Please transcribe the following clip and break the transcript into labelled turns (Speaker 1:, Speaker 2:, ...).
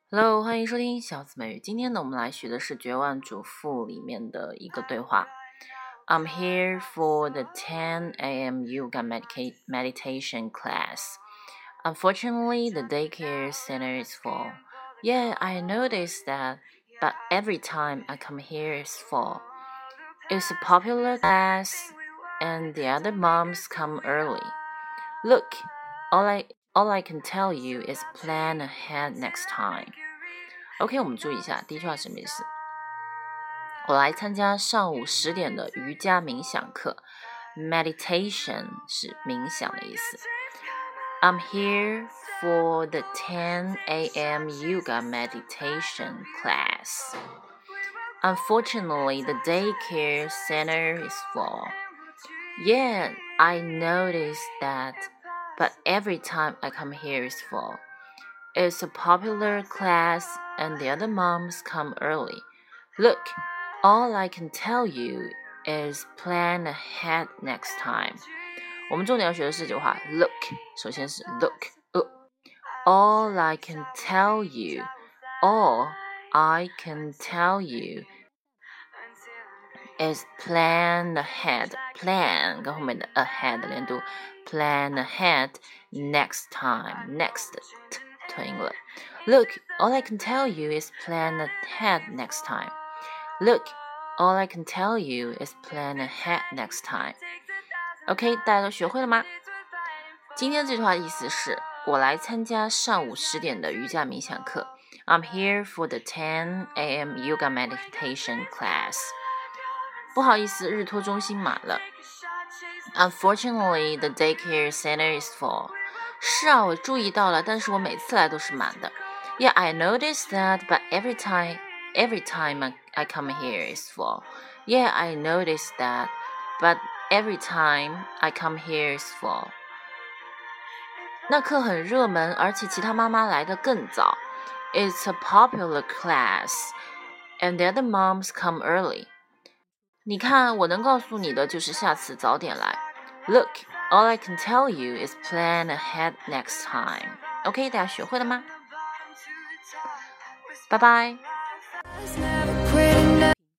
Speaker 1: Hello，欢迎收听小姊妹语。今天呢，我们来学的是《绝望主妇》里面的一个对话。I'm here for the 10 a.m. yoga meditation class. Unfortunately, the daycare center is full. Yeah, I noticed that, but every time I come here, it's full. It's a popular class, and the other moms come early. Look, all I can tell you is plan ahead next time. OK， 我们注意一下，第一句话什么意思？我来参加上午10点的瑜伽冥想课 ，meditation 是冥想的意思。I'm here for the 10 a.m. yoga meditation class. Unfortunately, the daycare center is full. Yeah, I noticed that, but every time I come here, it's full. It's a popular class, and the other moms come early. Look, all I can tell you is plan ahead next time. 我们重点要学的是这句话 look， 首先是 look。All I can tell you, all I can tell you is plan ahead. Plan 跟后面的 ahead 连读 plan ahead next time. Next 吞音了。Look, all I can tell you is plan ahead next time. Look, all I can tell you is plan ahead next time. OK， 大家都学会了吗？今天这句话的意思是我来参加上午10点的瑜伽冥想课。I'm here for the 10 a.m. yoga meditation class. 不好意思，日托中心满了。Unfortunately, the daycare center is full. 是啊，我注意到了，但是我每次来都是满的。Yeah, I noticed that, but every time I come here is full. Yeah, I noticed that, but every time I come here is full. 那课很热门，而且其他妈妈来得更早。It's a popular class, and the other moms come early. 你看，我能告诉你的就是下次早点来。Look, all I can tell you is plan ahead next time. OK， 大家学会了吗？拜拜。